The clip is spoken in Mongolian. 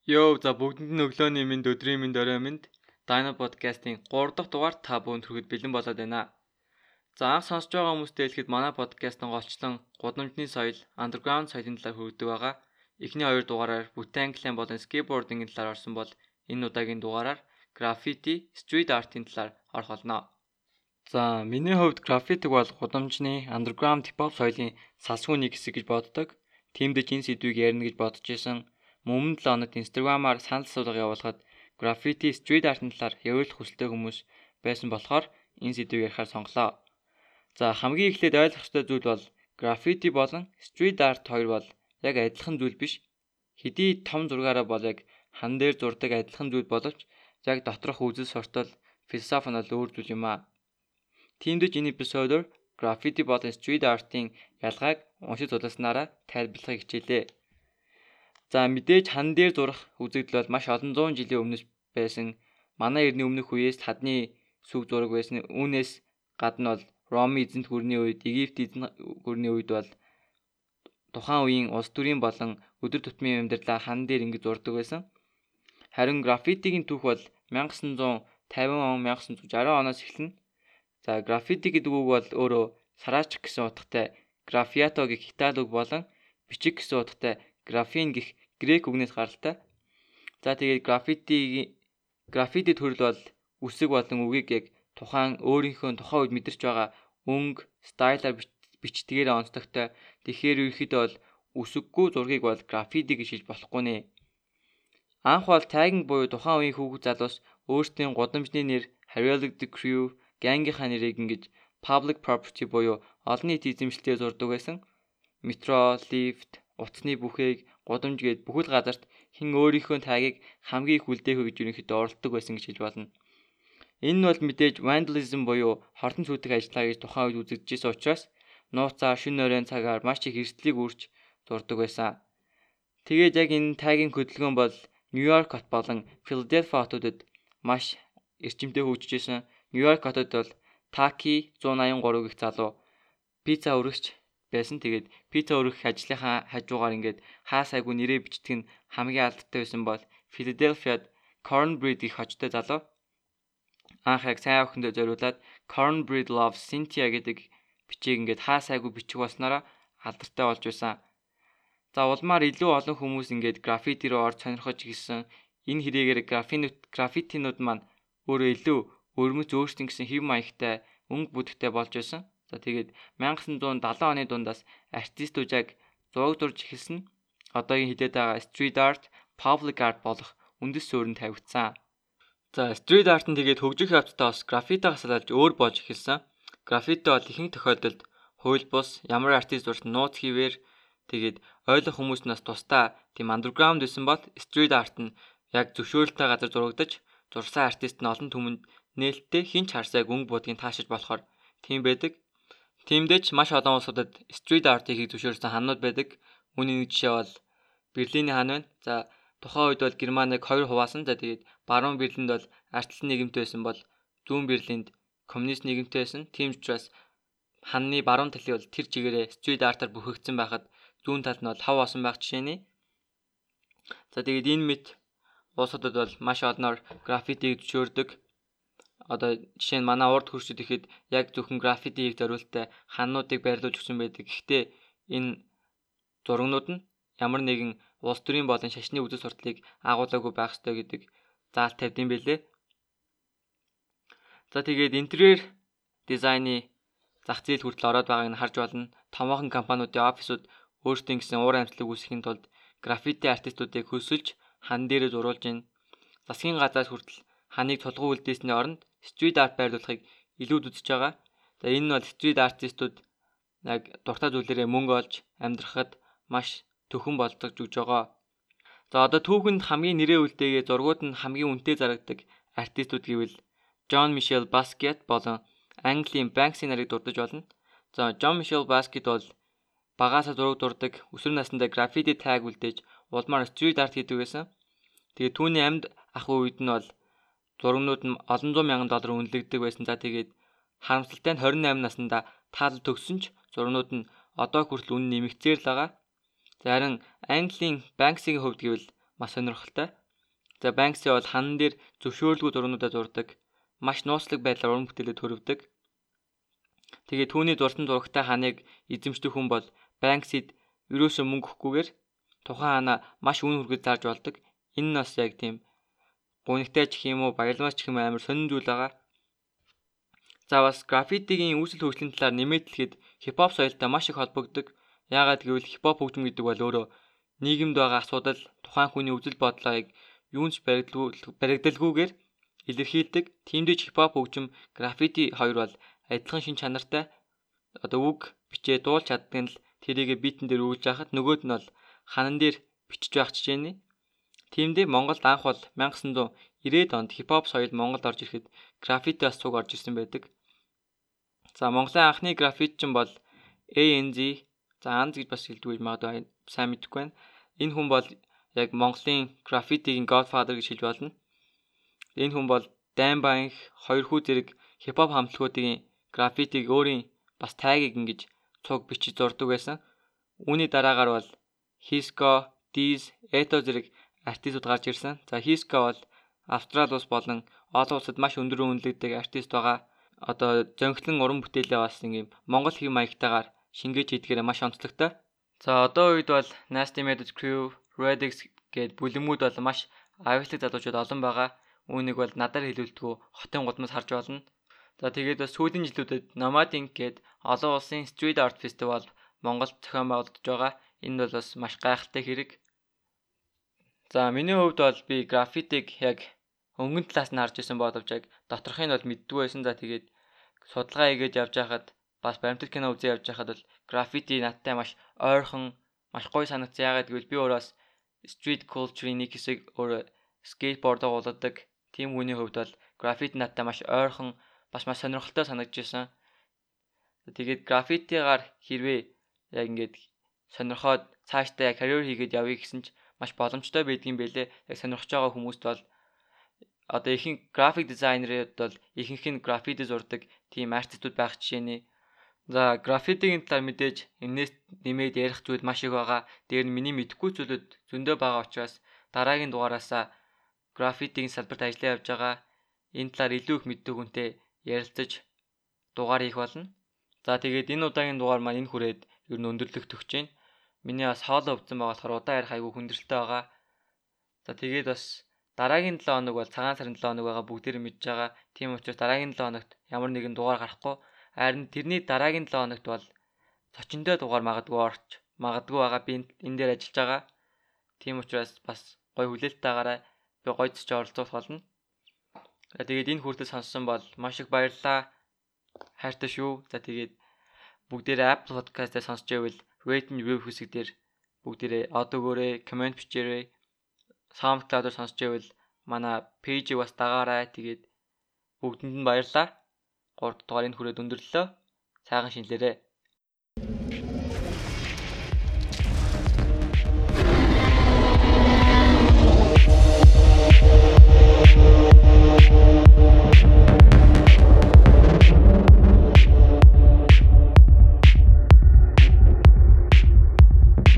Йоо, за бүгдэнд нь өглөөний минь өдрийн минь орой минь Dino podcast-ийн 3 дахь дугаар та бүхэнд хүрэхэд бэлэн болоод байна. За анх сонсож байгаа хүмүүстээ хэлэхэд манай podcast-ын голчлон гудамжны соёл, underground соёлын талаар хүргэдэг байгаа. Эхний 2 дугаараар бүтээн англиан болон skateboarding-ийн талаар орсон бол энэ удаагийн дугаараар graffiti, street art-ийн талаар орох болно. За миний хувьд graffiti бол гудамжны underground hip hop соёлын салшгүй нэг хэсэг гэж боддог. Тиймдээ энэ сэдвийг ярина гэж бодож исэн. Өмнө 7 хоногт Instagram-аар санал асуулга явуулахад graffiti street art-ын талаар яриулах хүсэлтэй хүмүүс байсан болохоор энэ сэдвийг ярихаар сонголоо. За хамгийн эхлээд ойлгох ёстой зүйл бол graffiti болон street art хоёр бол яг адилхан зүйл биш. Хэдий том зургаараа бол яг хан дээр зурдаг адилхан зүйл боловч яг доторх үзэл суртал, философи нь бол өөр зүйл юм аа. Тиймдээ энэ эпизодоор graffiti болон street art-ын ялгааг уншиж судласнараа тайлбарлахыг хичээлээ. За мэдээж хан дээр зурах үзэгдэл бол маш олон зуун жилийн өмнөөс байсан. Манай эртний өмнөх үеэс хадны сүг зураг байсан. Үүнээс гадна бол Роми эзэнт гүрний үед, Египт эзэнт гүрний үед бол тухайн үеийн улс төрийн болон өдөр тутмын амьдралаа хан дээр ингэж зурдаг байсан. Харин граффитигийн түүх бол 1950 он, 1960 оноос эхэлнэ. За граффити гэдэг үг бол өөрөө сараачих гэсэн утгатай графиато гэх Итали үг болон бичих гэсэн утгатай графин гэх грек үгнээс гаралтай. За тэгээд граффити төрөл бол үсэг болон үгийг яг тухайн өөрийнхөө тухайн үед мэдэрч байгаа өнгө, стайлаар бичдгээр онцлогтой. Тэгэхээр ерөөхдөө бол үсэггүй зургийг бол граффити гэж хэлж болохгүй нэ. Анх бол тагинг буюу тухайн үеийн хүүхэд залуус өөрсдийн гудамжны нэр, Harriet the Crew, гангийнхаа нэрийг ингэж public property буюу олон нийтийн эзэмшилтэд зурдаг байсан. Метро, лифт, утасны бүхээг, гудамж гээд бүхэл газарт хэн өөрийнхөө тагийг хамгийн их үлдээх вэ гэж ерөнхийдөө оролдог байсан гэж хэлж болно. Энэ нь бол мэдээж vandalism буюу хортон сүйтгэх ажиллагаа гэж тухайн үед үзэгдэжсэн учраас нууцаар шөнө оройн цагаар маш их эрсдлийг үүрч зурдаг байсан. Тэгээд яг энэ тагийн хөдөлгөөн бол Нью-Йорк хот болон Филадельфи хотуудад маш эрчимтэй хөгжижсэн. Нью-Йорк хотод бол Таки 183 гэх залуу пицца өргөгч байсан. Тэгээд пицца өргөх ажлынхаа хажуугаар ингээд хаа сайгүй нэрээ бичдэг нь хамгийн алдартай байсан бол Филадельфиад Cornbread гэх хочтой залуу. Анх яг сайн охиндоо зориулаад Cornbread loves Cynthia гэдэг бичиг ингээд хаа сайгүй бичих болснороо алдартай болж байсан. За улмаар илүү олон хүмүүс ингээд граффити руу орж сонирхож гисэн. Энэ хэрэгээр граффитинууд маань өөрөө илүү өрмөц өөрсдийн гэсэн хэв маягтай, өнгө бүтэхтэй болж байсан. За тэгээд 1970 оны дундаас артистууд яг зураг зурж эхэлсэн. Одоогийн хилээд байгаа street art, public art болох үндэс суурин тавигдсан. За street art нь тэгээд хөгжих явцдаа бас граффитигаас салж өөр болж эхэлсэн. Граффити бол ихэнх тохиолдолд хууль бус ямар артист зурсан нууц хийвэр тэгээд ойлгох хүмүүст нас тусдаа тийм underground байсан бол street art нь яг зөвшөөрөлтэй газар зурагдаж зурсан артист нь олон түмэнд нээлттэй хинч харсайг өнгө будгийг таашиж болохоор тийм байдаг. Тиймдээч маш олон улсуудад street art-ыг зөвшөөрсөн ханууд байдаг. Үүний нэг жишээ бол Берлиний хан байна. За тухайн үед бол Германыг 2 хуваасан. За тэгээд баруун Берлинд бол арчлан нийгэмтэй байсан бол зүүн Берлинд коммунист нийгэмтэй байсан. Тийм учраас ханны баруун талын бол тэр чигээрээ street art-аар бүхэгдсэн байхад зүүн талд нь бол хав осон байх жишээний. За тэгээд энэ мэт улсуудад бол маш олноор граффитиг зөвшөөрдөг. Одоо жишээ нь манай урд хурцд ихэд яг зөвхөн граффитиг зориултай хануудыг байрлуулж өгсөн байдаг. Гэхдээ энэ зурагнууд нь ямар нэгэн улс төрийн болон шашны үзэл сурталыг агуулаагүй байх ёстой гэдэг заалт тавьдсан байлээ. За тэгээд интерьер дизайны зах зээл хүртэл ороод байгааг нь харж болно. Томоохон компаниудын офисууд өөрсдийн гэсэн уур амьсгалыг үүсгэхийн тулд граффити артистуудыг хөсөлж хан дээрээ зурулж байна. Засгийн газраас хүртэл ханыг тулгуу үлдээсний оронд street art байрлуулахыг илүүд үзэж байгаа. За энэ нь бол street артистууд яг дуртай зүйлээрээ мөнгө олж амьдрахад маш төхөн болдог гэж байгаа. За одоо түүхэнд хамгийн нэрээ үлдээгээ зургууд нь хамгийн үнэтэй зарагддаг артистууд гэвэл Jean-Michel Basquiat болон Английн Banksy нарыг дурдж болно. За Jean-Michel Basquiat бол багаасаа зураг дурдаг, өсвөр насндаа граффити таг үлдээж улмаар street art хийдэг байсан. Тэгээд түүний амьд ах үед нь бол зурагнууд нь олон зуун мянган доллар үнэлэгддэг байсан. За тэгээд харамсалтай нь 28 наснда таалал төгссөн ч зурагнууд нь одоо хүртэл үнэ нэмэгцээр л байгаа. За харин Английн Банксигийн хувьд гэвэл маш сонирхолтой. За Banksy бол ханан дээр зөвшөөрөлгүй зургуудаа зурдаг. Маш нууцлаг байдлаар уран бүтээлээ төрөвдөг. Тэгээд түүний зурсан зурагтай ханыг эзэмшдэг хүн бол Banksy-д ерөөсөө мөнгө өгөхгүйгээр тухайн ханаа маш үн хүргэж зарж болдог. Энэ нь бас яг тийм гунигтай ч юм уу, баялмаас ч юм амар сонин зүйл байгаа. За бас граффитигийн үүсэл хөгжлийн талаар нэмээд хэлэхэд хипхоп соёлтой маш их холбогддог. Яагаад гэвэл хипхоп хөгжим гэдэг бол өөрөө нийгэмд байгаа асуудал, тухайн хүний үзэл бодлоог юунч баригдалгүйгээр илэрхийлдэг. Тиймдээ хипхоп хөгжим, граффити хоёр бол адилхан шин чанартай. Одоо үг бичээ дуулж чаддаг нь л тэрийгэ битэн дээр өгүүлж яхад нөгөөд нь бол ханан дээр бичиж байх жишээний. Тиймдээ Монголд анх бол 1990-ад онд хипхоп соёл Монголд орж ирэхэд граффити бас цуг орж ирсэн байдаг. За Монголын анхны граффитчин бол ANZ. За Анз гэж бас хэлдэг магадгүй сайн мэдэхгүй байна. Энэ хүн бол яг Монголын граффитигийн Godfather гэж хэлж болно. Энэ хүн бол Даймбаанх 2 хүү зэрэг хипхоп хамтлагуудын граффитиг өөрийн бас тайгийг ингэж цуг бичиж зурдаг байсан. Үүний дараагаар бол Hisco, Diz, Eto зэрэг артистууд гарч ирсэн. За Hisco бол Австрали улс болон олон улсад маш өндөр үнэлэгддэг артист байгаа. Одоо зөнгөлөн уран бүтээлээ бас ингээм Монгол хэв маягтайгаар шингээж хийдгээрээ маш онцлогтой. За одоо үед бол Nasty Methods Crew, Redix гээд бүлэмүүд бол маш авиачлаг залуучууд олон байгаа. Үүнийг бол надаар хэлүүлдэггүй хотын гудамж харж болно. За тэгээд бас сүүлийн жилүүдэд Nomad Ink гээд олон улсын Street Art Festival Монголд зохион байгуулагдаж байгаа. Энэ бол бас маш гайхалтай хэрэг. За миний хувьд бол би граффитиг яг өнгөн талаас нь харж исэн боловч яг доторхыг нь бол мэддгүй байсан. За тэгээд судалгаа хийгээд явж байхад бас баримтат кино үзээ явж байхад бол граффити надтай маш ойрхон, маш гоё санагдсан. Яагаад гэвэл би өөрөө street culture-ийн нэг хэсэг өөрөө скейтборд дагуулдаг. Тим хүний хувьд бол граффити надтай маш ойрхон, бас маш сонирхолтой санагдажсэн. Тэгээд граффитигаар хэрвээ яг ингээд сонирхоод цаашдаа яг карьер хийгээд явъя гэсэн ч маш боломжтой байдгийн байлээ. Яг сонирхож байгаа хүмүүст бол одоо ихэнх график дизайнерууд бол ихэнх нь граффити зурдаг тийм артистууд байх жишээний. За граффитигийн талаар мэдээж энэс нэмээд ярих зүйл маш их байгаа. Дээр нь миний мэдэхгүй зүйлүүд зөндөө байгаа учраас дараагийн дугаараасаа граффитигийн салбарт ажиллаж явж байгаа. Энэ талаар илүү их мэддэг хүнтэй ярилцаж дугаар хийх болно. За тэгээд энэ удаагийн дугаар маань энэ хүрээд ер нь өндөрлөх төгсөж байна. Миний бас хоолой өвдсөн байгаа болохоор удаа ярих айгүй хүндрэлтэй байгаа. За тэгээд бас дараагийн 7 хоног бол цагаан сарын 7 хоног байгаа бүгдээр мэдж байгаа. Тийм учраас дараагийн 7 хоногт ямар нэгэн дугаар гарахгүй. Харин тэрний дараагийн 7 хоногт бол зочиндөө дугаар магадгүй байгаа. Би энэ дээр ажиллаж байгаа. Тийм учраас бас гоё хүлээлттайгаараа би гоё зоч оролцох болно. Тэгээд энэ хүртэл сонссон бол маш их баярлалаа. Хайртай шүү. За тэгээд бүгдээрээ Apple Podcast-аар сонсч байвал rate and review хэсэг дээр бүгдээрээ од өгөөрэй, комент бичээрэй. SoundCloud-аар сонсч байвал манай пэйжийг бас дагаарай. Тэгээд бүгдэнд нь баярлалаа. 3 дугаар энэ хүрээд өндөрлөө. Сайхан шинэлээрэй.